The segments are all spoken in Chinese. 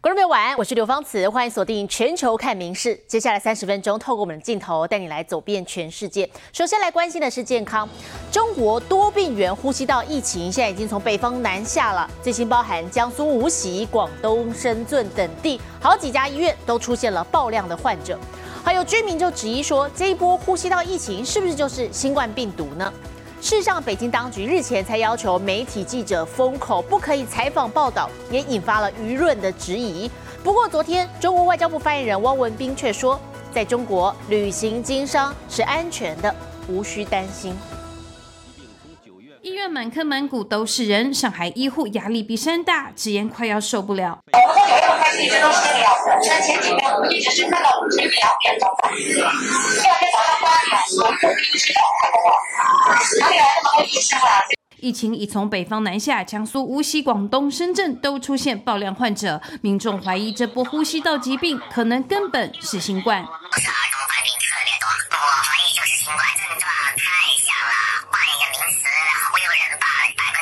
观众朋友晚安，我是刘芳慈，欢迎锁定全球看民事。接下来30分钟，透过我们的镜头带你来走遍全世界。首先来关心的是健康，中国多病原呼吸道疫情现在已经从北方南下了，最新包含江苏无锡、广东深圳等地，好几家医院都出现了爆量的患者。还有居民就质疑说，这一波呼吸道疫情是不是就是新冠病毒呢？事实上，北京当局日前才要求媒体记者封口，不可以采访报道，也引发了舆论的质疑。不过，昨天中国外交部发言人汪文斌却说，在中国旅行经商是安全的，无需担心。 医院满坑满谷都是人，上海医护压力比山大，直言快要受不了。 我们有一部分一直都是这个样子，像前几天我们一直是看到52点钟的，第二天早上8点，我们一直都看不到，哪里来那么多医生啊？ 疫情已从北方南下，江苏、无锡、广东、深圳都出现爆量患者，民众怀疑这波呼吸道疾病可能根本是新冠。 是儿童患病特别多，我怀疑就是新冠，症状太像了，换一个名词，忽悠人吧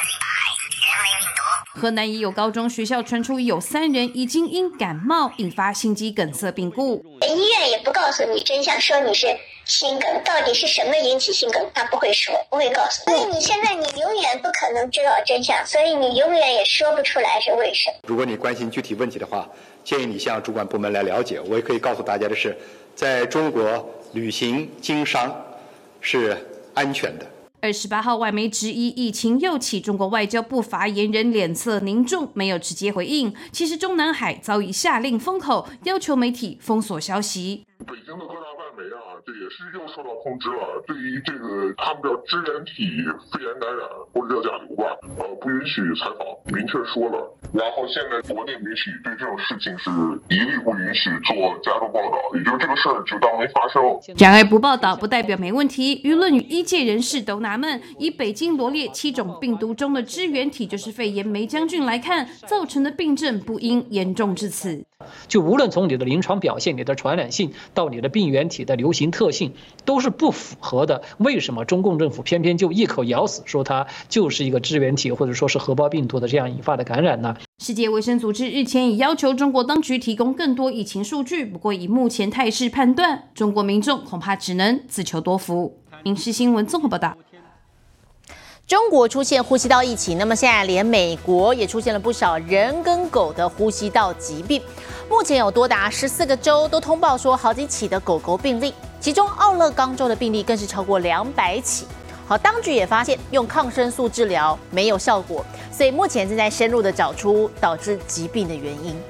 ，100%人为病毒。 河南也有高中学校传出有3人已经因感冒引发心肌梗塞病故。 医院也不告诉你真相，说你是心梗，到底是什么引起心梗，他不会说，不会告诉你。所以你现在你永远不可能知道真相，所以你永远也说不出来是为什么。 如果你关心具体问题的话，建议你向主管部门来了解。我也可以告诉大家的是，在中国旅行经商是安全的。 28号，外媒质疑疫情又起，中国外交部发言人脸色凝重，没有直接回应。其实中南海早已下令封口，要求媒体封锁消息。 北京的各大外媒这也是又受到通知了，对于这个他们叫支原体肺炎感染或者叫甲流吧，不允许采访，明确说了。然后现在国内媒体对这种事情是一律不允许做加重报道，也就是这个事儿就当没发生。 然而不报道不代表没问题，舆论与医界人士都纳闷，以北京罗列7种病毒中的支原体就是肺炎霉浆菌来看，造成的病症不应严重至此。 就无论从你的临床表现、你的传染性到你的病原体的流行特性，都是不符合的。为什么中共政府偏偏就一口咬死，说它就是一个支原体或者说是核胞病毒的这样引发的感染呢？ 世界卫生组织日前已要求中国当局提供更多疫情数据，不过以目前态势判断，中国民众恐怕只能自求多福。民视新闻综合报道。 中国出现呼吸道疫情，那么现在连美国也出现了不少人跟狗的呼吸道疾病。目前有多达14个州都通报说好几起的狗狗病例，其中奥勒冈州的病例更是超过200起。好，当局也发现用抗生素治疗没有效果，所以目前正在深入的找出导致疾病的原因。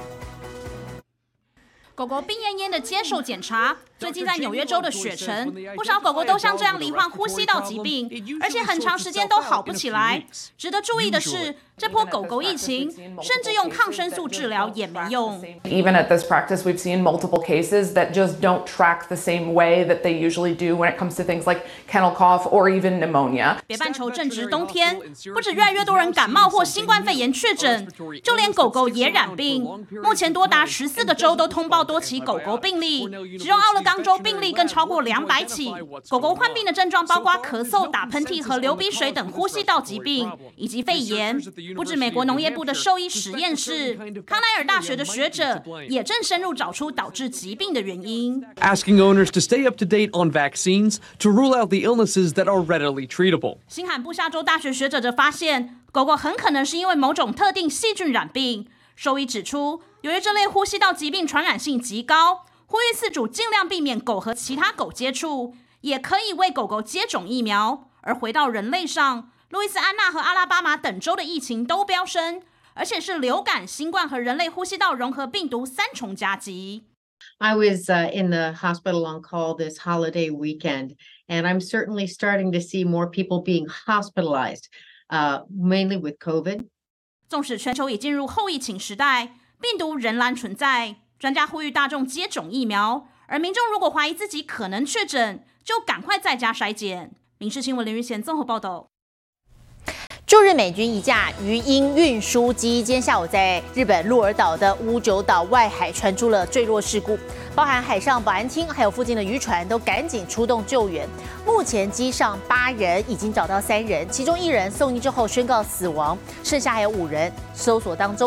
狗狗病恹恹的接受检查。最近在纽约州的雪城，不少狗狗都像这样罹患呼吸道疾病，而且很长时间都好不起来。值得注意的是，这波狗狗疫情，甚至用抗生素治疗也没用。 Even at this practice, we've seen multiple cases that just don't track the same way that they usually do when it comes to things like kennel cough or even pneumonia. 北半球正值冬天，不止越来越多人感冒或新冠肺炎确诊，就连狗狗也染病。目前多达14个州都通报多起狗狗病例，其中奥勒冈州病例更超过200起。狗狗患病的症状包括咳嗽、打喷嚏和流鼻水等呼吸道疾病，以及肺炎。不止美国农业部的兽医实验室，康奈尔大学的学者也正深入找出导致疾病的原因。 Asking owners to stay up to date on vaccines to rule out the illnesses that are readily treatable. 新罕布夏州大学学者则发现，狗狗很可能是因为某种特定细菌染病。兽医指出，由于这类呼吸道疾病传染性极高，呼吁饲主尽量避免狗和其他狗接触，也可以为狗狗接种疫苗。而回到人类上，路易斯安那和阿拉巴马等州的疫情都飙升，而且是流感、新冠和人类呼吸道融合病毒3重夹击。 I was in the hospital on call this holiday weekend, and I'm certainly starting to see more people being hospitalized, mainly with COVID. 纵使全球已进入后疫情时代，病毒仍然存在。专家呼吁大众接种疫苗，而民众如果怀疑自己可能确诊，就赶快在家筛检。民视新闻林玉贤综合报道。 驻日美军一架鱼鹰运输机今天下午在日本鹿儿岛的屋久岛外海传出了坠落事故，包含海上保安厅还有附近的渔船都赶紧出动救援。目前机上8人已经找到3人，其中1人送医之后宣告死亡，剩下还有5人搜索当中。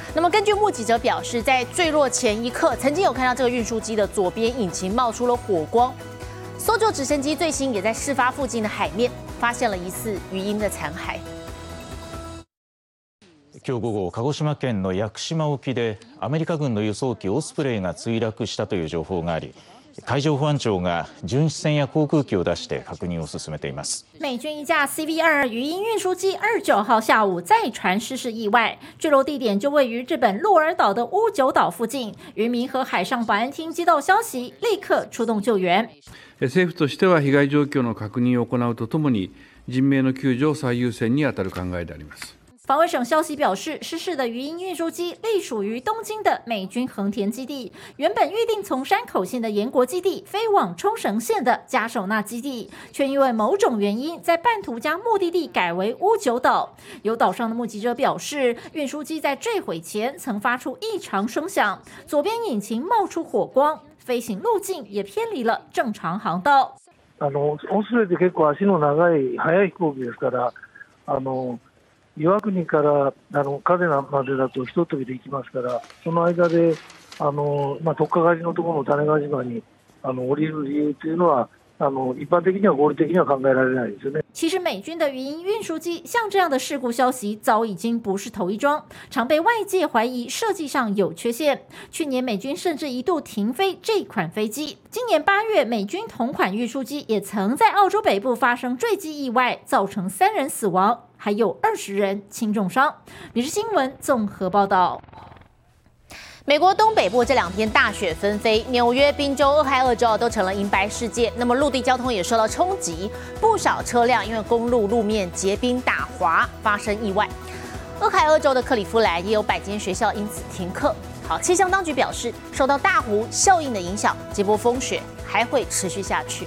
那么根据目击者表示，在坠落前一刻，曾经有看到这个运输机的左边引擎冒出了火光。搜救直升机最新也在事发附近的海面发现了疑似鱼鹰的残骸。 今日午後、鹿児島県の屋久島沖でアメリカ軍の輸送機オスプレイが墜落したという情報があり、海上保安庁が巡視船や航空機を出して確認を進めています。 美军一架 CV-22鱼鹰运输机29号下午再传失事意外，坠落地点就位于日本鹿儿岛的屋久岛附近。渔民和海上保安厅接到消息，立刻出动救援。 政府としては被害状況の確認を行うとともに、人命の救助を最優先に当たる考えであります。 防卫省消息表示，失事的鱼鹰运输机隶属于东京的美军横田基地，原本预定从山口县的岩国基地飞往冲绳县的加手纳基地，却因为某种原因，在半途将目的地改为屋久岛。有岛上的目击者表示，运输机在坠毁前曾发出异常声响，左边引擎冒出火光，飞行路径也偏离了正常航道。 オスプレイって結構足の長い速い飛行機ですから、岩国から嘉手納までだとひと飛びで行きますから、その間で特化狩りのところの種子島に降りる理由というのは一般的には合理的には考えられないですよね。 其实美军的鱼鹰运输机像这样的事故消息早已经不是头一桩，常被外界怀疑设计上有缺陷。去年美军甚至一度停飞这款飞机。今年8月，美军同款运输机也曾在澳洲北部发生坠机意外，造成3人死亡，还有20人轻重伤。民事新闻综合报道。 美国东北部这2天大雪纷飞，纽约、宾州、俄亥俄州都成了银白世界。那么陆地交通也受到冲击，不少车辆因为公路路面结冰打滑，发生意外。俄亥俄州的克利夫兰也有100间学校因此停课。好，气象当局表示，受到大湖效应的影响，这波风雪还会持续下去。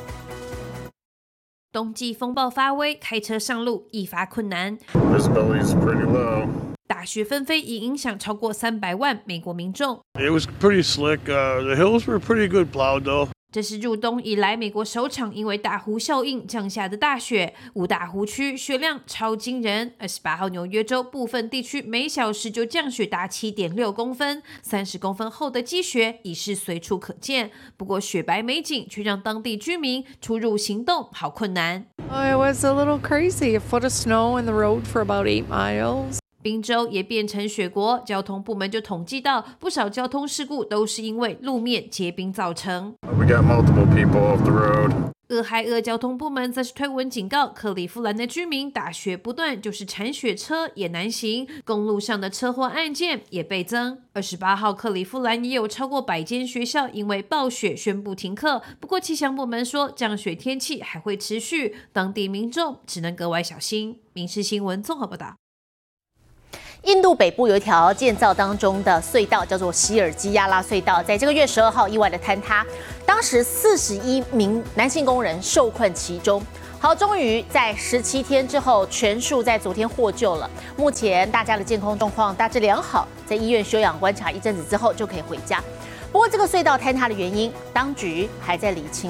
冬季风暴发威，开车上路一发困难。 Visibility is pretty low. 大雪纷飞已影响超过300万美国民众。 It was pretty slick. The hills were pretty good plowed though. 这是入冬以来美国首场因为大湖效应降下的大雪，五大湖区雪量超惊人。28号纽约州部分地区每小时就降雪达7.6公分，30公分厚的积雪已是随处可见。不过雪白美景却让当地居民出入行动好困难。 It was a little crazy. A foot of snow in the road for about 8 miles. 宾州也变成雪国，交通部门就统计到，不少交通事故都是因为路面结冰造成。 We got multiple people off the road. 俄亥俄交通部门则是推文警告克利夫兰的居民，大雪不断，就是铲雪车也难行，公路上的车祸案件也倍增。28号克利夫兰也有超过100间学校因为暴雪宣布停课，不过气象部门说降雪天气还会持续，当地民众只能格外小心。民事新闻综合报道。 印度北部有一条建造当中的隧道，叫做希尔基亚拉隧道，在这个月12号意外的坍塌，当时41名男性工人受困其中。好，终于在17天之后，全数在昨天获救了。目前大家的健康状况大致良好，在医院休养观察一阵子之后就可以回家。不过，这个隧道坍塌的原因，当局还在厘清。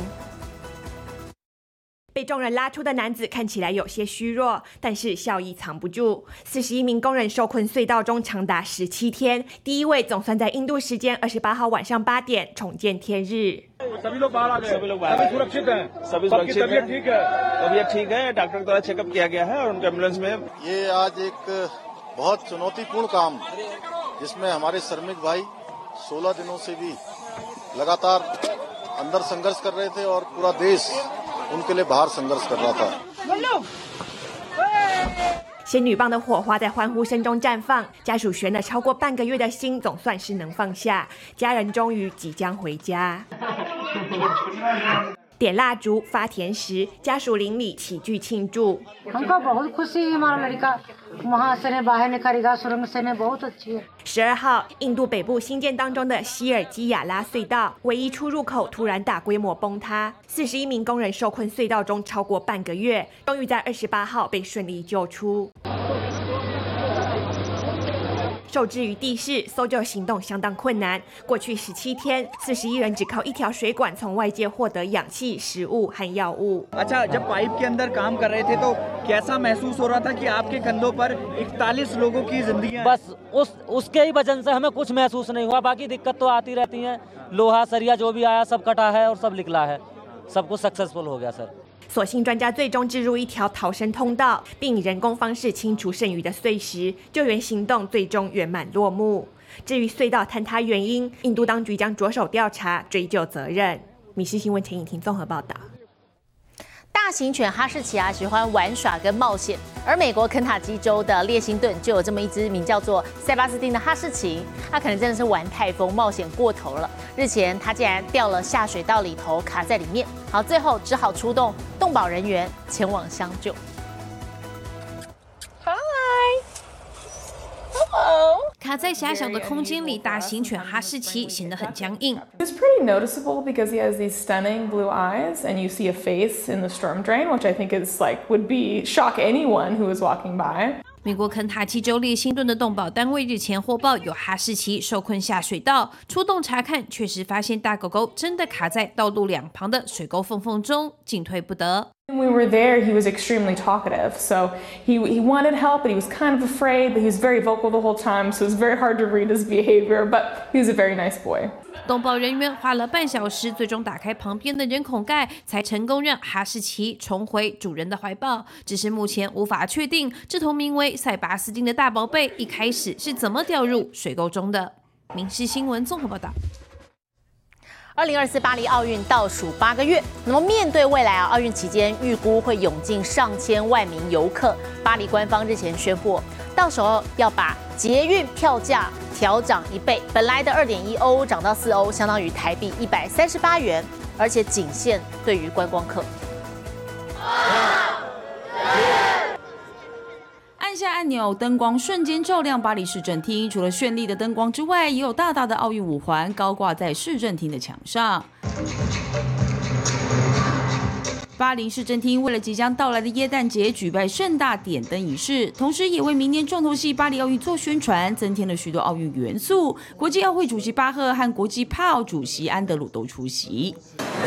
被众人拉出的男子看起来有些虚弱，但是笑意藏不住。41名工人受困隧道中长达17天，第一位总算在印度时间28号晚上8点重见天日。仙女棒的火花在欢呼声中绽放，家属悬了超过半个月的心总算是能放下，家人终于即将回家。点蜡烛、发甜食，家属邻里齐聚庆祝。12号，印度北部新建当中的希尔基亚拉隧道唯一出入口突然大规模崩塌，41名工人受困隧道中超过半个月，终于在28号被顺利救出。 受制于地势，搜救行动相当困难。过去17天，41人只靠一条水管从外界获得氧气、食物和药物。 अच्छा जब पाइप के अंदर काम कर रहे थे तो कैसा महसूस हो रहा था कि आपके कंधों पर 41 लोगों की जिंदगी बस उसके ही वजन से हमें कुछ महसूस नहीं हुआ बाकी दिक्कत तो आती रहती है लोहा सरिया जो भी आया सब कटा है और सब निकला है सब कुछ सक्सेसफुल हो गया सर 所幸专家最终置入一条逃生通道，并以人工方式清除剩余的碎石，救援行动最终圆满落幕。至于隧道坍塌原因，印度当局将着手调查，追究责任。米氏新闻陈颖婷综合报道。 大型犬哈士奇喜欢玩耍跟冒险，而美国肯塔基州的列辛顿就有这么一只名叫做塞巴斯汀的哈士奇，它可能真的是玩太疯、冒险过头了。日前，它竟然掉了下水道里头，卡在里面，好，最后只好出动动保人员前往相救。 卡在狭小的空间里，大型犬哈士奇显得很僵硬。 It's pretty noticeable because he has these stunning blue eyes, and you see a face in the storm drain, which I think is would be shock anyone who was walking by. 美国肯塔基州列辛顿的动保单位日前获报有哈士奇受困下水道，出动查看，确实发现大狗狗真的卡在道路两旁的水沟缝缝中，进退不得。 When we were there, he was extremely talkative, so he wanted help, but he was kind of afraid, but he was very vocal the whole time, so it was very hard to read his behavior, but he was a very nice boy. 动保人员花了半小时，最终打开旁边的人孔盖，才成功让哈士奇重回主人的怀抱。只是目前无法确定这头名为塞巴斯汀的大宝贝一开始是怎么掉入水沟中的。民视新闻综合报道。 2024巴黎奥运倒数8个月，那么面对未来奥运期间预估会涌进上千万名游客，巴黎官方日前宣布，到时候要把捷运票价调涨1倍，本来的2.1欧涨到4欧，相当于台币138元，而且仅限对于观光客。 按下按钮，灯光瞬间照亮巴黎市政厅。除了绚丽的灯光之外，也有大大的奥运五环高挂在市政厅的墙上。巴黎市政厅为了即将到来的耶诞节举办盛大点灯仪式，同时也为明年重头戏巴黎奥运做宣传，增添了许多奥运元素。国际奥会主席巴赫和国际帕奥主席安德鲁都出席。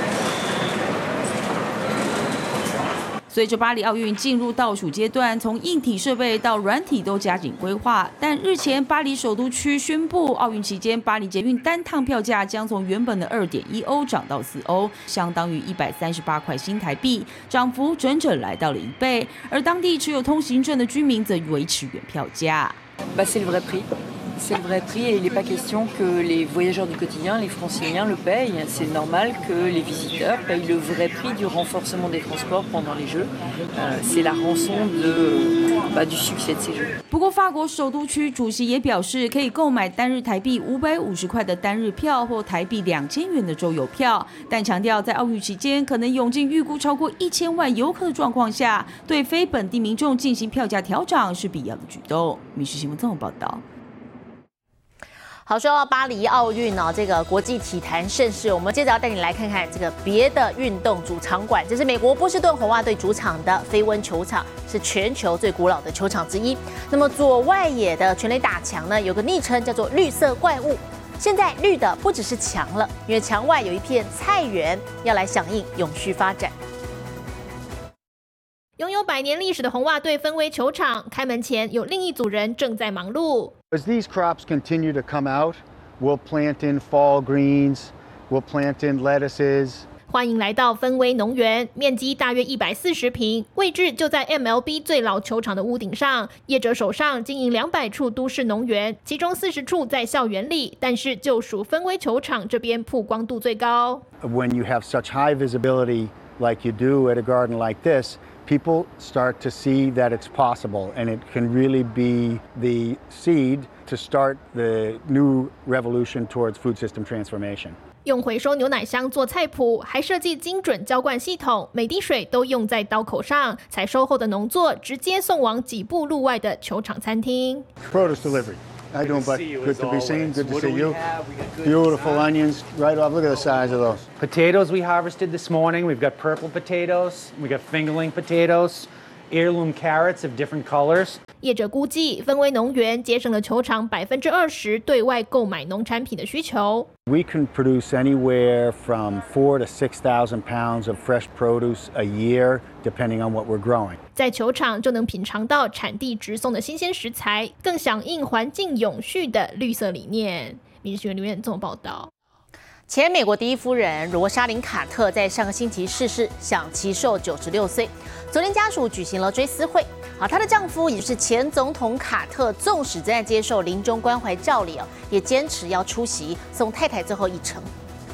随着巴黎奥运进入倒数阶段，从硬体设备到软体都加紧规划。但日前，巴黎首都区宣布，奥运期间巴黎捷运单趟票价将从原本的2.1欧涨到4欧，相当于138块新台币，涨幅整整来到了1倍。而当地持有通行证的居民则维持原票价。 C'est le vrai prix. C'est le vrai prix et il n'est pas question que les voyageurs du quotidien, les franciliens le payent. C'est normal que les visiteurs payent le vrai prix du renforcement des transports pendant les Jeux. C'est la rançon du succès de ces Jeux. 不过，法国首都区主席也表示，可以购买单日台币550块的单日票或台币2000元的周游票，但强调在奥运期间可能涌进预估超过1000万游客的状况下，对非本地民众进行票价调整是必要的举动。民视新闻综合报道。 好，说到巴黎奥运这个国际体坛盛事，我们接着要带你来看看这个别的运动主场馆。这是美国波士顿红袜队主场的飞温球场，是全球最古老的球场之一。那么左外野的全垒打墙呢，有个昵称叫做绿色怪物。现在绿的不只是墙了，因为墙外有一片菜园，要来响应永续发展。 拥有100年历史的红袜队芬威球场开门前，有另一组人正在忙碌。 As these crops continue to come out, we'll plant in fall greens, we'll plant in lettuces. 欢迎来到芬威农园，面积大约140坪，位置就在 MLB 最老球场的屋顶上。业者手上经营200处都市农园，其中40处在校园里，但是就属芬威球场这边曝光度最高。 When you have such high visibility like you do at a garden like this, people start to see that it's possible, and it can really be the seed to start the new revolution towards food system transformation. 用回收牛奶箱做菜谱，还设计精准浇灌系统，每滴水都用在刀口上。采收后的农作直接送往几步路外的球场餐厅。 Produce delivery. How you doing, bud? Good to be seen. Good to see you. Beautiful onions, right off. Look at the size of those. Potatoes we harvested this morning. We've got purple potatoes. We got fingerling potatoes. Heirloom carrots of different colors. 业者估计，芬威农园节省了球场20%对外购买农产品的需求。 We can produce anywhere from 4,000 to 6,000 pounds of fresh produce a year, depending on what we're growing. 在球场就能品尝到产地直送的新鲜食材，更响应环境永续的绿色理念。民事新闻留言综合报道。 前美国第一夫人罗莎琳·卡特在上个星期逝世，享其寿96岁。昨天家属举行了追思会。她的丈夫也就是前总统卡特，纵使正在接受临终关怀照礼也坚持要出席，送太太最后一程。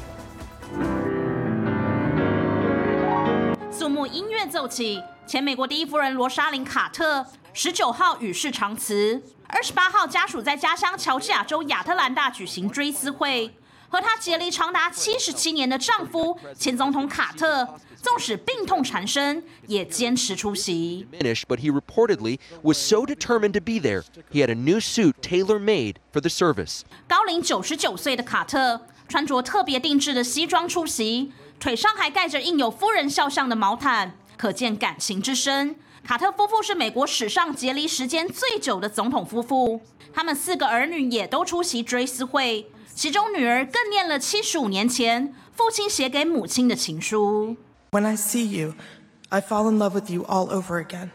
肃穆音乐奏起，前美国第一夫人罗莎琳·卡特19号与世长辞，28号家属在家乡乔治亚州亚特兰大举行追思会。和她结离长达77年的丈夫前总统卡特，纵使病痛缠身，也坚持出席。 But he reportedly was so determined to be there, he had a new suit tailor-made for the service. 高龄99岁的卡特穿着特别定制的西装出席，腿上还盖着印有夫人肖像的毛毯，可见感情之深。卡特夫妇是美国史上结离时间最久的总统夫妇，他们4个儿女也都出席追思会。其中女儿更念了75年前父亲写给母亲的情书。 When I see you, I fall in love with you all over again.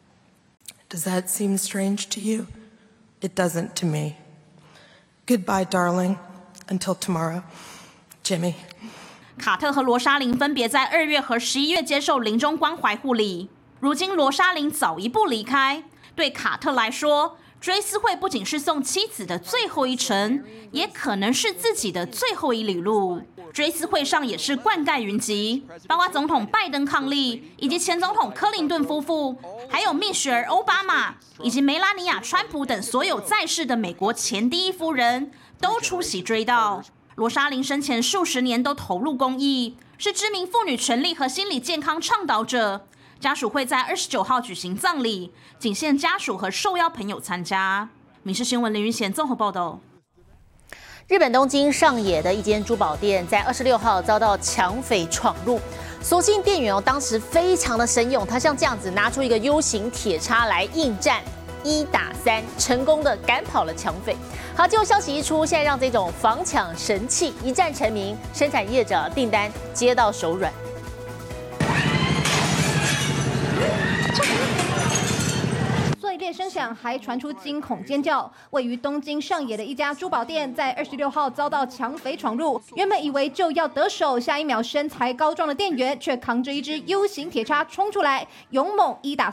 Does that seem strange to you? It doesn't to me. Goodbye, darling. Until tomorrow, Jimmy. 卡特和罗莎琳分别在2月和11月接受临终关怀护理。如今罗莎琳早一步离开，对卡特来说，追思会不仅是送妻子的最后一程，也可能是自己的最后一里路。追思会上也是冠盖云集，包括总统拜登伉俪，以及前总统克林顿夫妇，还有蜜雪儿奥巴马以及梅拉尼亚川普等所有在世的美国前第一夫人都出席追悼。罗莎琳生前数十年都投入公益，是知名妇女权利和心理健康倡导者。家属会在29号举行葬礼，仅限家属和受邀朋友参加。民事新闻林云贤综合报道。 日本东京上野的一间珠宝店在26号遭到抢匪闯入，所幸店员当时非常的神勇，他像这样子拿出一个 U 型铁叉来应战，1打3，成功的赶跑了抢匪。好，结果消息一出，现在让这种防抢神器一战成名，生产业者订单接到手软。 碎裂声响，还传出惊恐尖叫。位于东京上野的一家珠宝店，在26号遭到抢匪闯入。原本以为就要得手，下一秒身材高壮的店员却扛着一支 U 型铁叉冲出来，勇猛1打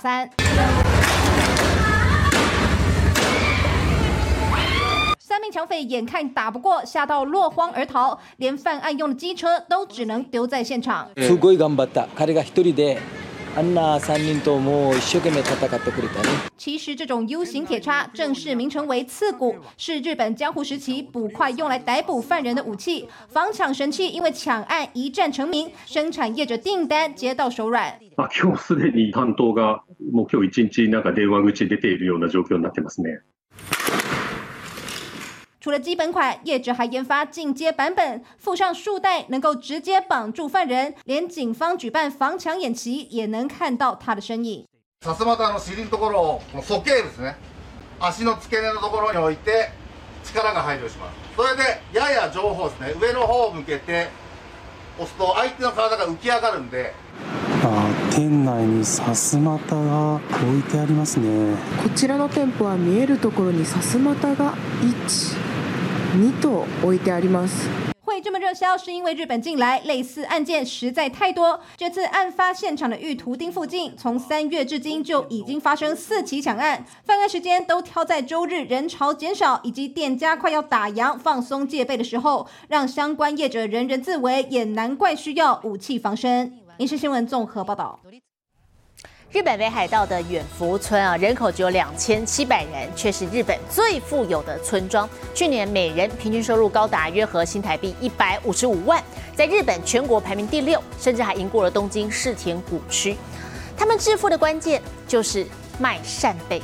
3。3名抢匪眼看打不过，吓到落荒而逃，连犯案用的机车都只能丢在现场。 すごい頑張った。彼が1人で。あんな3人ともう一生懸命戦ってくれたね。 其实这种 U 型铁叉正式名称为刺骨，是日本江户时期捕快用来逮捕犯人的武器，防抢神器因为抢案一战成名，生产业者订单接到手软。 今日すでに担当がもう今日1日なんか電話口出ているような状況になってますね。 除了基本款，业者还研发进阶版本，附上束带能够直接绑住犯人，连警方举办防抢演习也能看到他的身影。 さすまたの尻のところをこの鼠径ですね、足の付け根のところに置いて力が排除します。それでやや上方ですね、上の方を向けて押すと相手の体が浮き上がるんで。 店内にさすまたが置いてありますね。 こちらの店舗は見えるところにさすまたが1、2と置いてあります。 会这么热销，是因为日本近来类似案件实在太多。这次案发现场的玉图町附近，从3月至今就已经发生4起抢案，犯案时间都挑在周日人潮减少以及店家快要打烊放松戒备的时候，让相关业者人人自危，也难怪需要武器防身。民事新闻综合报道。 日本北海道的远福村人口只有2700人，却是日本最富有的村庄。去年每人平均收入高达约合新台币155万，在日本全国排名第6，甚至还赢过了东京世田谷区。他们致富的关键就是卖扇贝。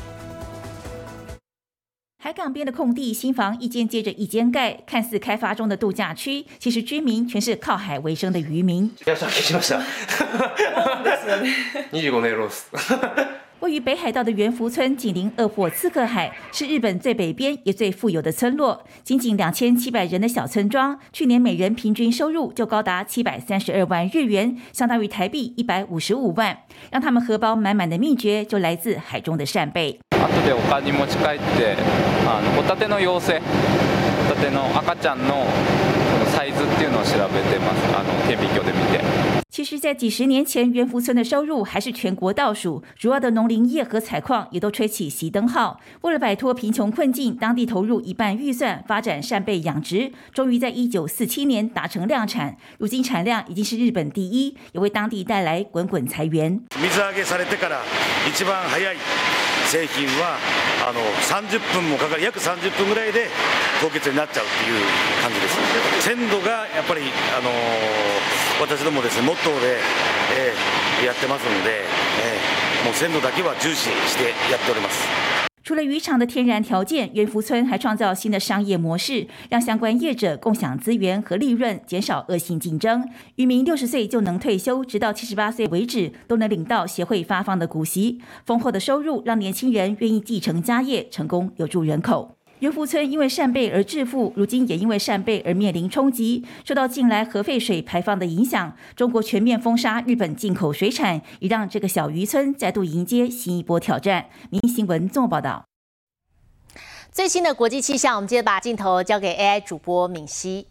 海港边的空地，新房一间接着一间盖，看似开发中的度假区，其实居民全是靠海为生的渔民。 25年ロース。 位于北海道的猿福村紧邻鄂霍次克海，是日本最北边也最富有的村落。仅2700人的小村庄，去年每人平均收入就高达732万日元，相当于台币155万。让他们荷包满满的秘诀就来自海中的扇贝。 後で丘に持ち帰ってホタテの幼生、ホタテの赤ちゃんのサイズっていうのを調べてます。顕微鏡で見て。 其实，在几十年前，猿福村的收入还是全国倒数，主要的农林业和采矿也都吹起熄灯号。为了摆脱贫穷困境，当地投入1半预算发展扇贝养殖，终于在1947年达成量产。如今产量已经是日本第一，也为当地带来滚滚财源。 水揚げされてから一番早い製品は30分もかかる、約30分ぐらいで凍結になっちゃうっていう感じです。鮮度がやっぱり私どもですねモットーでやってますので、もう鮮度だけは重視してやっております。 除了渔场的天然条件，猿福村还创造新的商业模式，让相关业者共享资源和利润，减少恶性竞争。渔民60岁就能退休，直到78岁为止，都能领到协会发放的股息。丰厚的收入让年轻人愿意继承家业，成功留住人口。猿福村因为扇贝而致富，如今也因为扇贝而面临冲击。受到近来核废水排放的影响，中国全面封杀日本进口水产，也让这个小渔村再度迎接新一波挑战。民意新闻综合报道。 最新的国际气象，我们接着把镜头交给 AI 主播敏熙。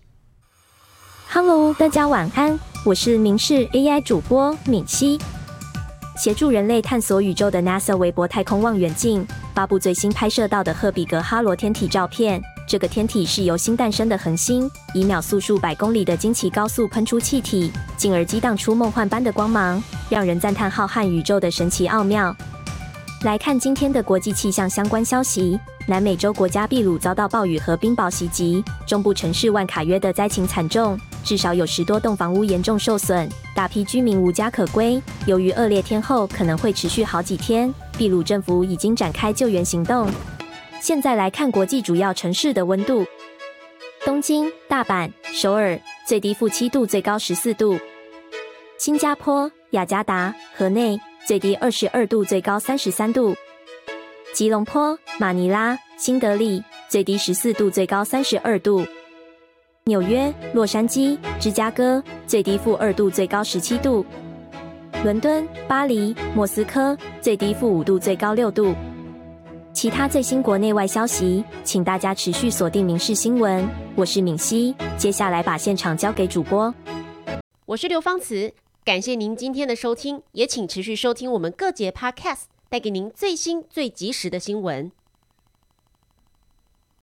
Hello， 大家晚安，我是民视 AI 主播敏熙。协助人类探索宇宙的 NASA 韦伯太空望远镜发布最新拍摄到的赫比格哈罗天体照片。这个天体是由新诞生的恒星以秒速数百公里的惊奇高速喷出气体，进而激荡出梦幻般的光芒，让人赞叹浩瀚宇宙的神奇奥妙。来看今天的国际气象相关消息。南美洲国家秘鲁遭到暴雨和冰雹袭击，中部城市万卡约的灾情惨重，至少有10多栋房屋严重受损，大批居民无家可归。由于恶劣天候可能会持续好几天，秘鲁政府已经展开救援行动。现在来看国际主要城市的温度：东京、大阪、首尔，最低负7度，最高14度；新加坡、雅加达、河内，最低22度，最高33度；吉隆坡、马尼拉、新德里，最低14度，最高32度；纽约、洛杉矶、芝加哥，最低-2度，最高17度；伦敦、巴黎、莫斯科，最低-5度，最高6度。其他最新国内外消息，请大家持续锁定民视新闻。我是敏熙，接下来把现场交给主播。 我是刘芳慈，感谢您今天的收听，也请持续收听我们各节 Podcast， 带给您最新最及时的新闻。